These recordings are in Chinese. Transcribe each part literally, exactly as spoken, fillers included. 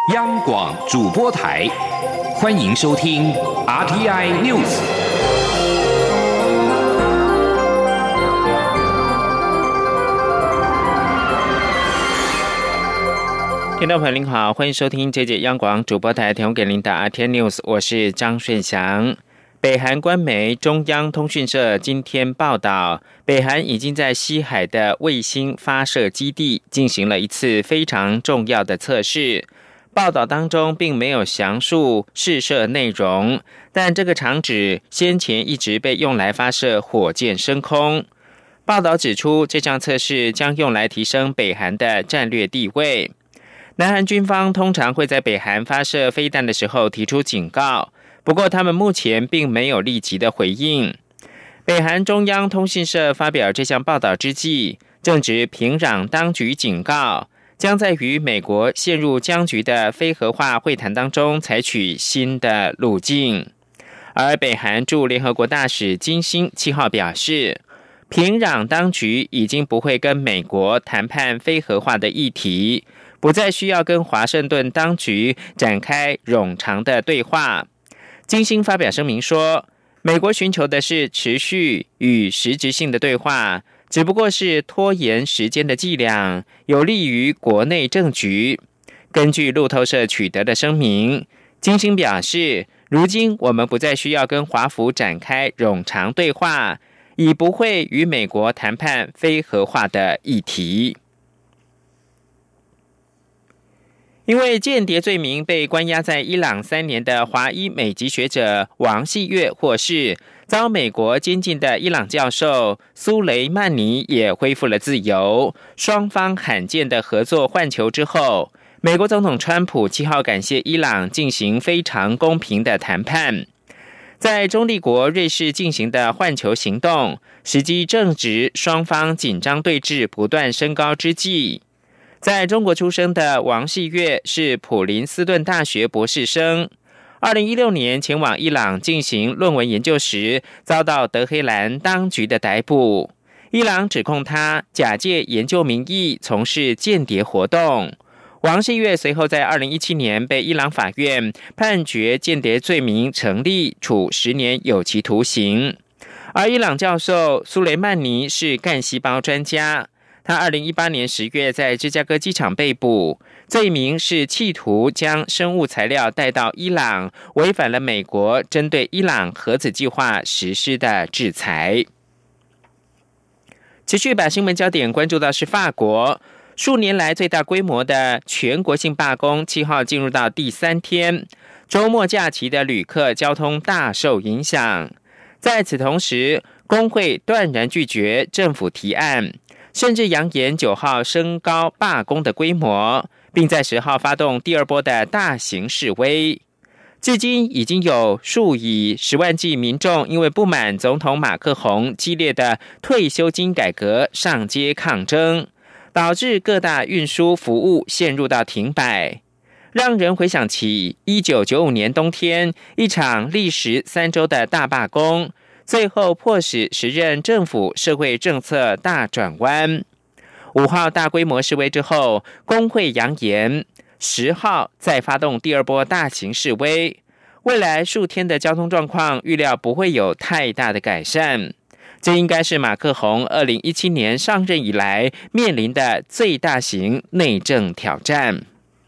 央广主播台，欢迎收听 R T I News。 听众朋友您好，欢迎收听这节央广主播台提供给您的 R T I News， 我是张顺祥。北韩官媒中央通讯社今天报道，北韩已经在西海的卫星发射基地进行了一次非常重要的测试。报道当中并没有详述试射内容，但这个场址先前一直被用来发射火箭升空。报道指出，这项测试将用来提升北韩的战略地位。南韩军方通常会在北韩发射飞弹的时候提出警告，不过他们目前并没有立即的回应。北韩中央通讯社发表这项报道之际，正值平壤当局警告，将在与美国陷入僵局的非核化会谈当中采取新的路径。而北韩驻联合国大使金星七号表示，平壤当局已经不会跟美国谈判非核化的议题，不再需要跟华盛顿当局展开冗长的对话。金星发表声明说，美国寻求的是持续与实质性的对话，只不过是拖延时间的伎俩，有利于国内政局。根据路透社取得的声明，金星表示，如今我们不再需要跟华府展开冗长对话，已不会与美国谈判非核化的议题。因为间谍罪名被关押在伊朗三年的华裔美籍学者王细月获释，遭美国监禁的伊朗教授苏雷曼尼也恢复了自由。双方罕见的合作换球之后，美国总统川普七号感谢伊朗进行非常公平的谈判。在中立国瑞士进行的换球行动，时机正值双方紧张对峙不断升高之际。在中国出生的王细月是普林斯顿大学博士生，二零一六年前往伊朗进行论文研究时，遭到德黑兰当局的逮捕。伊朗指控他假借研究名义从事间谍活动。王细月随后在二零一七年被伊朗法院判决间谍罪名成立，处十年有期徒刑。而伊朗教授苏雷曼尼是干细胞专家，他二零一八年十月在芝加哥机场被捕，罪名是企图将生物材料带到伊朗，违反了美国针对伊朗核子计划实施的制裁。持续把新闻焦点关注到是法国，数年来最大规模的全国性罢工七号进入到第三天，周末假期的旅客交通大受影响。在此同时，工会断然拒绝政府提案，甚至扬言九号升高罢工的规模，并在十号发动第二波的大型示威。至今已经有数以十万计民众因为不满总统马克宏激烈的退休金改革上街抗争，导致各大运输服务陷入到停摆，让人回想起一九九五年冬天一场历时三周的大罢工，最后迫使时任政府社会政策大转弯。五号大规模示威之后，工会扬言十号再发动第二波大型示威，未来数天的交通状况预料不会有太大的改善。这应该是马克宏二零一七年上任以来面临的最大型内政挑战。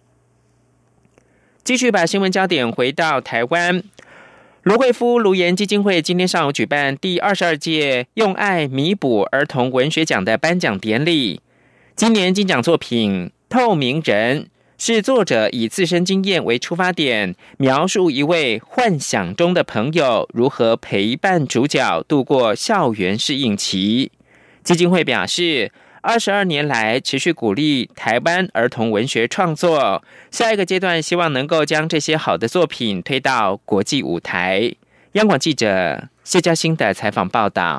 继续把新闻焦点回到台湾，卢慧夫卢颜基金会今天上午举办第二十二届用爱弥补儿童文学奖的颁奖典礼。今年金奖作品《透明人》是作者以自身经验为出发点，描述一位幻想中的朋友如何陪伴主角度过校园适应期。基金会表示，二十二年来持续鼓励台湾儿童文学创作，下一个阶段希望能够将这些好的作品推到国际舞台。央广记者谢嘉欣的采访报道。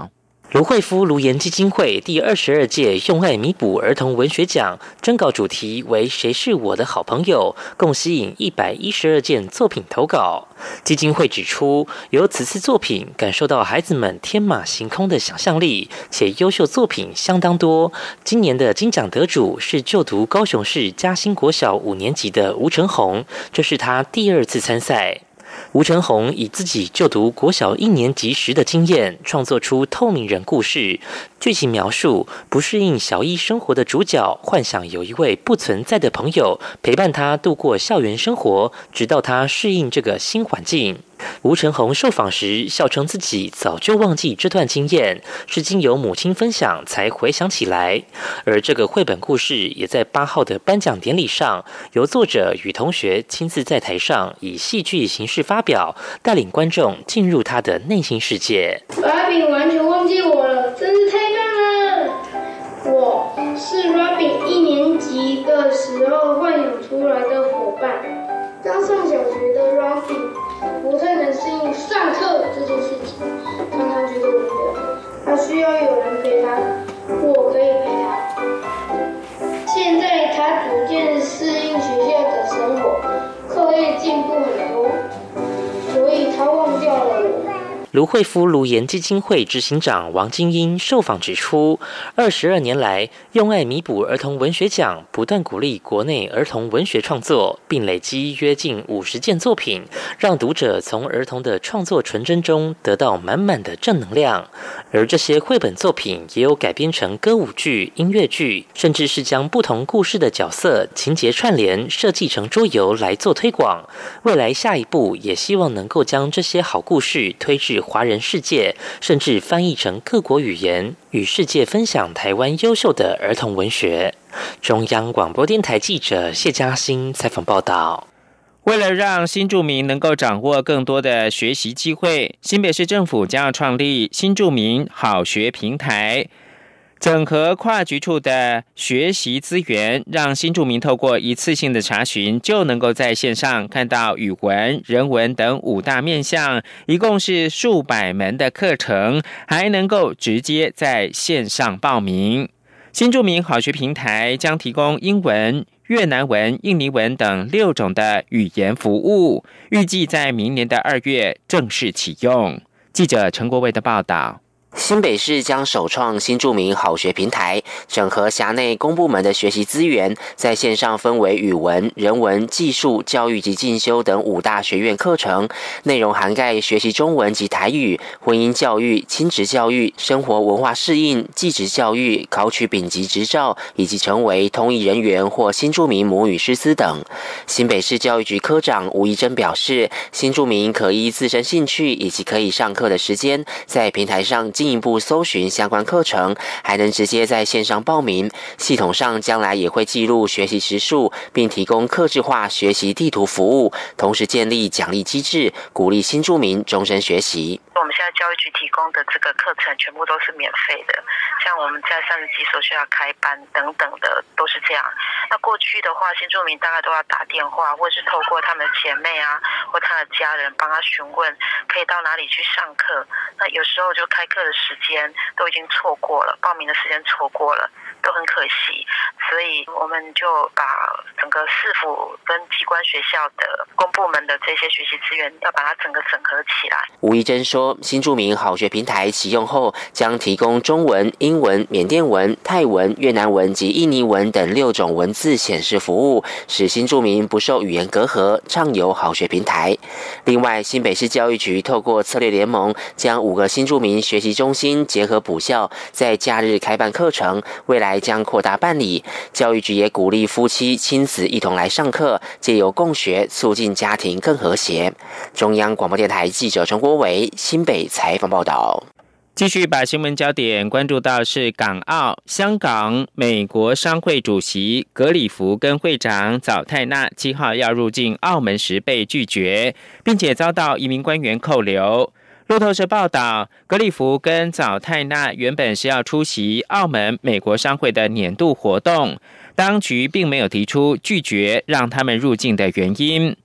卢慧夫卢颜基金会第二十二届用爱弥补儿童文学奖征稿主题为“谁是我的好朋友”，共吸引一百一十二件作品投稿。基金会指出，由此次作品感受到孩子们天马行空的想象力，且优秀作品相当多。今年的金奖得主是就读高雄市嘉兴国小五年级的吴成宏，这是他第二次参赛。吴成宏以自己就读国小一年级时的经验，创作出透明人故事。剧情描述不适应小一生活的主角，幻想有一位不存在的朋友陪伴他度过校园生活，直到他适应这个新环境。吴成宏受访时笑称自己早就忘记这段经验，是经由母亲分享才回想起来。而这个绘本故事也在八号的颁奖典礼上，由作者与同学亲自在台上以戏剧形式发表，带领观众进入他的内心世界。 Robin 完全忘记我了，真是太棒了！我是 Robin 一年级的时候幻想出来的伙伴。刚上小学的 Robin 不太能适应上课这件事情，常常觉得无聊，他需要有人陪他，我可以陪他。现在他逐渐适应学校的生活，课业进步很多，所以他忘掉了我。 卢慧夫卢颜基金会执行长王金英受访指出，二十二年来，用爱弥补儿童文学奖不断鼓励国内儿童文学创作，并累积约近五十件作品，让读者从儿童的创作纯真中得到满满的正能量。而这些绘本作品也有改编成歌舞剧、音乐剧，甚至是将不同故事的角色、情节串联设计成桌游来做推广。未来下一步也希望能够将这些好故事推至华人世界，甚至翻译成各国语言，与世界分享台湾优秀的儿童文学。中央广播电台记者谢嘉欣采访报道。 为了让新住民能够掌握更多的学习机会，新北市政府将要创立新住民好学平台，整合跨局处的学习资源，让新住民透过一次性的查询，就能够在线上看到语文、人文等五大面向，一共是数百门的课程，还能够直接在线上报名。新住民好学平台将提供英文、越南文、印尼文等六种的语言服务，预计在明年的二月正式启用。记者陈国卫的报道。 新北市将首创新住民好学平台，整合辖内公部门的学习资源，在线上分为语文、人文、技术、教育及进修等五大学院课程，内容涵盖学习中文及台语、婚姻教育、亲职教育、生活文化适应、技职教育、考取丙级执照，以及成为通译人员或新住民母语师资等。新北市教育局科长吴怡珍表示，新住民可依自身兴趣以及可以上课的时间，在平台上进一步搜寻相关课程，还能直接在线上报名。系统上将来也会记录学习时数，并提供客制化学习地图服务，同时建立奖励机制，鼓励新住民终身学习。 我们现在教育局提供的这个课程全部都是免费的，像我们在三十几所学校开班等等的都是这样。那过去的话，新住民大概都要打电话，或是透过他们的姐妹啊，或他的家人帮他询问可以到哪里去上课。那有时候就开课的时间都已经错过了，报名的时间错过了，都很可惜。所以我们就把整个市府跟机关学校的公部门的这些学习资源，要把它整个整合起来。 吴怡珍说，新住民好学平台启用后，将提供中文、英文、缅甸文、泰文、越南文及印尼文等六种文字显示服务，使新住民不受语言隔阂，畅游好学平台。另外，新北市教育局透过策略联盟，将五个新住民学习中心结合补校，在假日开办课程，未来将扩大办理。教育局也鼓励夫妻、亲子一同来上课，借由共学，促进家庭更和谐。中央广播电台记者陈国伟新北采访报道。 继续把新闻焦点关注到是港澳、香港、美国商会主席格里福跟会长早泰纳七号要入境澳门时被拒绝，并且遭到移民官员扣留。路透社报道，格里福跟早泰纳原本是要出席澳门美国商会的年度活动，当局并没有提出拒绝让他们入境的原因。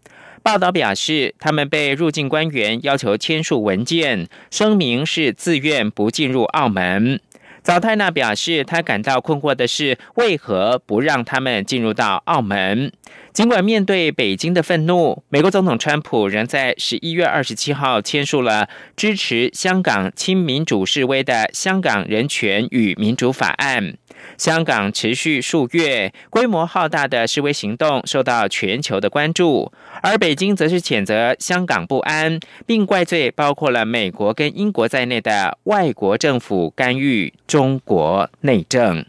报道表示，他们被入境官员要求签署文件，声明是自愿不进入澳门。早泰纳表示，他感到困惑的是，为何不让他们进入到澳门？尽管面对北京的愤怒，美国总统川普仍在十一月二十七号签署了支持香港亲民主示威的《香港人权与民主法案》。香港持续数月，规模浩大的示威行动受到全球的关注，而北京则是谴责香港不安，并怪罪包括了美国跟英国在内的外国政府干预中国内政。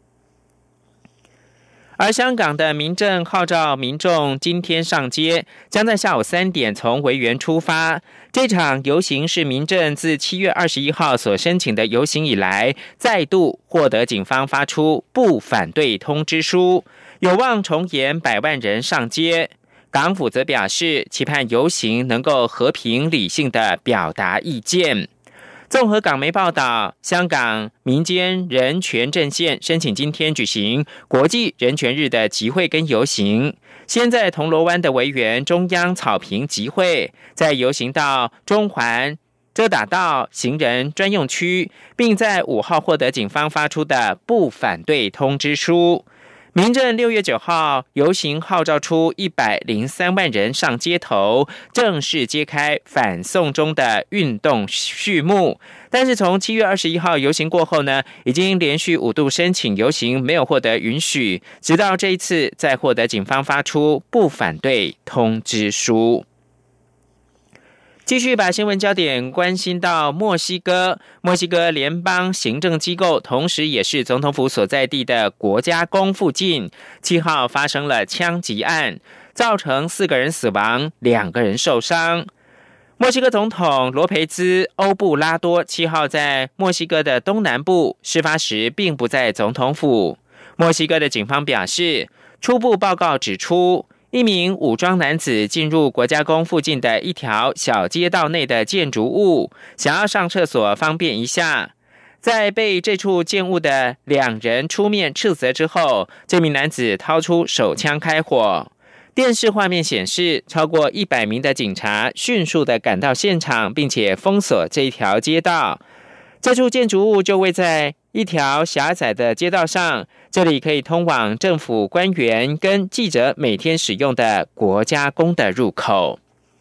而香港的民政号召民众今天上街，将在下午三点从维园出发。这场游行是民政自七月二十一号所申请的游行以来，再度获得警方发出不反对通知书，有望重演百万人上街。港府则表示，期盼游行能够和平理性的表达意见。综合港媒报道，香港民间人权阵线申请今天举行国际人权日的集会跟游行，先在铜锣湾的维园中央草坪集会，再游行到中环遮打道行人专用区，并在五号获得警方发出的不反对通知书。民政六月九号游行号召出一百零三万人上街头，正式揭开反送中的运动序幕。但是从七月二十一号游行过后呢，已经连续五度申请游行没有获得允许，直到这一次再获得警方发出不反对通知书。继续把新闻焦点关心到墨西哥，墨西哥联邦行政机构，同时也是总统府所在地的国家宫附近，七号发生了枪击案，造成四个人死亡，两个人受伤。墨西哥总统罗培兹·欧布拉多七号在墨西哥的东南部，事发时并不在总统府。墨西哥的警方表示，初步报告指出，一名武装男子进入国家宫附近的一条小街道内的建筑物，想要上厕所方便一下。在被这处建物的两人出面斥责之后，这名男子掏出手枪开火。电视画面显示，超过一百名的警察迅速的赶到现场，并且封锁这一条街道。这处建筑物就位在一条狭窄的街道上，这里可以通往政府官员跟记者每天使用的国家宫的入口。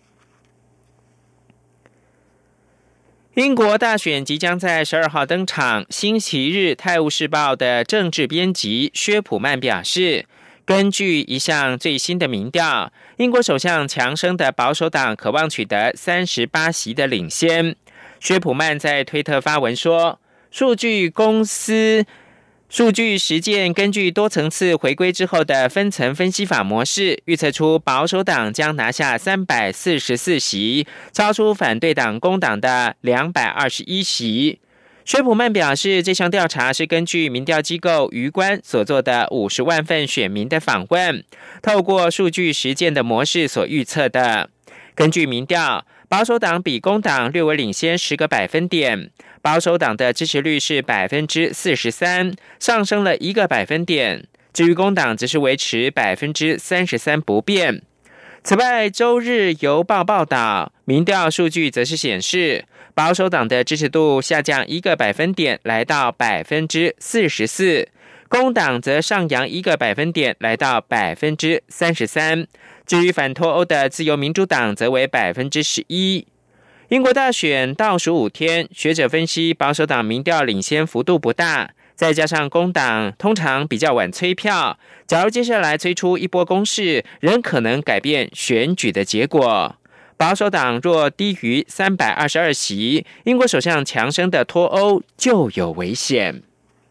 英国大选即将在十二号登场，星期日《泰晤士报》的政治编辑薛普曼表示，根据一项最新的民调，英国首相强生的保守党渴望取得三十八席的领先。薛普曼在推特发文说，数据公司数据实践根据多层次回归之后的分层分析法模式，预测出保守党将拿下三百四十四席，超出反对党工党的两百二十一席。薛普曼表示，这项调查是根据民调机构余观所做的五十万份选民的访问，透过数据实践的模式所预测的。根据民调，保守党比工党略微领先十个百分点，保守党的支持率是百分之四十三，上升了一个百分点。至于工党则是维持百分之三十三不变。此外，周日邮报报道，民调数据则是显示，保守党的支持度下降一个百分点，来到百分之四十四，工党则上扬一个百分点，来到百分之三十三。至于反脱欧的自由民主党则为百分之十一。英国大选倒数五天，学者分析保守党民调领先幅度不大，再加上工党通常比较晚催票，假如接下来催出一波攻势，仍可能改变选举的结果。保守党若低于三百二十二席，英国首相强生的脱欧就有危险。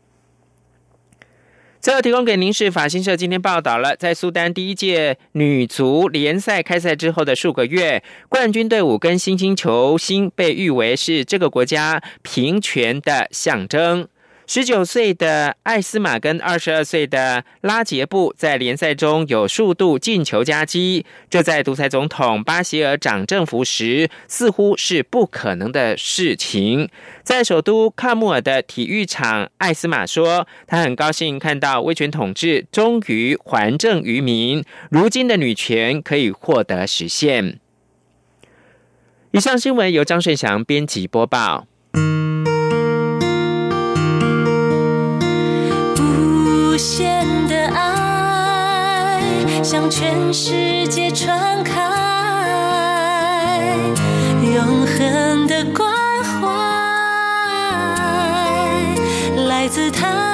最后提供给您是法新社今天报道了，在苏丹第一届女足联赛开赛之后的数个月，冠军队伍跟新兴球星被誉为是这个国家平权的象征。 十九岁的艾斯玛跟二十二岁的拉杰布在联赛中有数度进球佳绩，这在独裁总统巴希尔掌政府时似乎是不可能的事情。在首都喀木尔的体育场，艾斯玛说，他很高兴看到威权统治终于还政于民，如今的女权可以获得实现。以上新闻由张顺祥编辑播报。 无限的爱向全世界传开，永恒的关怀来自他